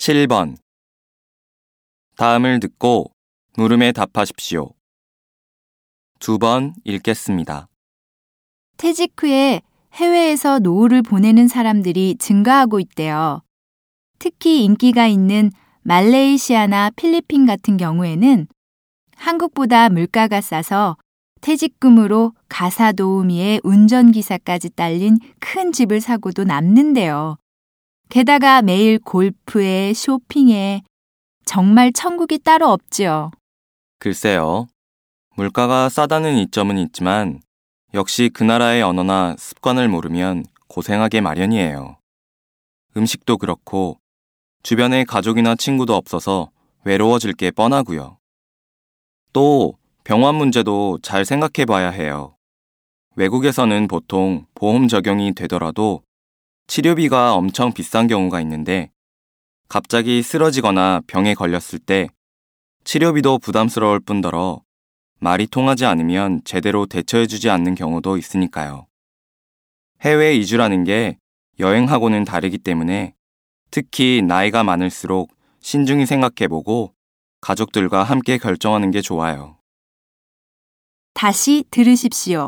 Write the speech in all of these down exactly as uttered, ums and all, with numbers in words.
칠 번. 다음을 듣고 물음에 답하십시오. 두 번 읽겠습니다. 퇴직 후에 해외에서 노후를 보내는 사람들이 증가하고 있대요. 특히 인기가 있는 말레이시아나 필리핀 같은 경우에는 한국보다 물가가 싸서 퇴직금으로 가사 도우미에 운전기사까지 딸린 큰 집을 사고도 남는데요. 게다가 매일 골프에 쇼핑에 정말 천국이 따로 없지요. 글쎄요. 물가가 싸다는 이점은 있지만 역시 그 나라의 언어나 습관을 모르면 고생하게 마련이에요. 음식도 그렇고 주변에 가족이나 친구도 없어서 외로워질 게 뻔하고요. 또 병원 문제도 잘 생각해 봐야 해요. 외국에서는 보통 보험 적용이 되더라도 치료비가 엄청 비싼 경우가 있는데 갑자기 쓰러지거나 병에 걸렸을 때 치료비도 부담스러울 뿐더러 말이 통하지 않으면 제대로 대처해주지 않는 경우도 있으니까요. 해외 이주라는 게 여행하고는 다르기 때문에 특히 나이가 많을수록 신중히 생각해보고 가족들과 함께 결정하는 게 좋아요. 다시 들으십시오.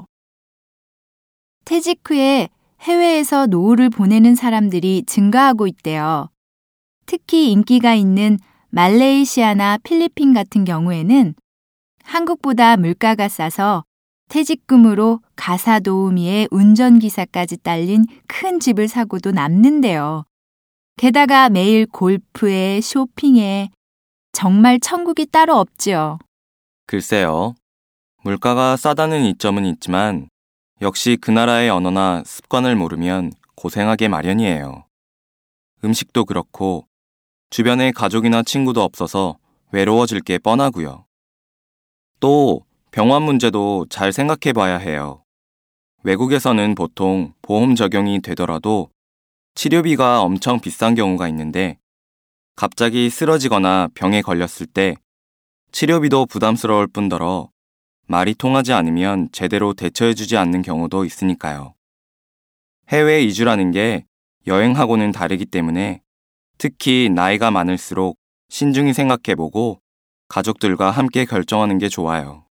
퇴직 후에 해외에서 노후를 보내는 사람들이 증가하고 있대요. 특히 인기가 있는 말레이시아나 필리핀 같은 경우에는 한국보다 물가가 싸서 퇴직금으로 가사 도우미에 운전기사까지 딸린 큰 집을 사고도 남는데요. 게다가 매일 골프에 쇼핑에 정말 천국이 따로 없지요. 글쎄요. 물가가 싸다는 이점은 있지만 역시 그 나라의 언어나 습관을 모르면 고생하게 마련이에요. 음식도 그렇고 주변에 가족이나 친구도 없어서 외로워질 게 뻔하고요. 또 병원 문제도 잘 생각해 봐야 해요. 외국에서는 보통 보험 적용이 되더라도 치료비가 엄청 비싼 경우가 있는데 갑자기 쓰러지거나 병에 걸렸을 때 치료비도 부담스러울 뿐더러 말이 통하지 않으면 제대로 대처해주지 않는 경우도 있으니까요. 해외 이주라는 게 여행하고는 다르기 때문에 특히 나이가 많을수록 신중히 생각해보고 가족들과 함께 결정하는 게 좋아요.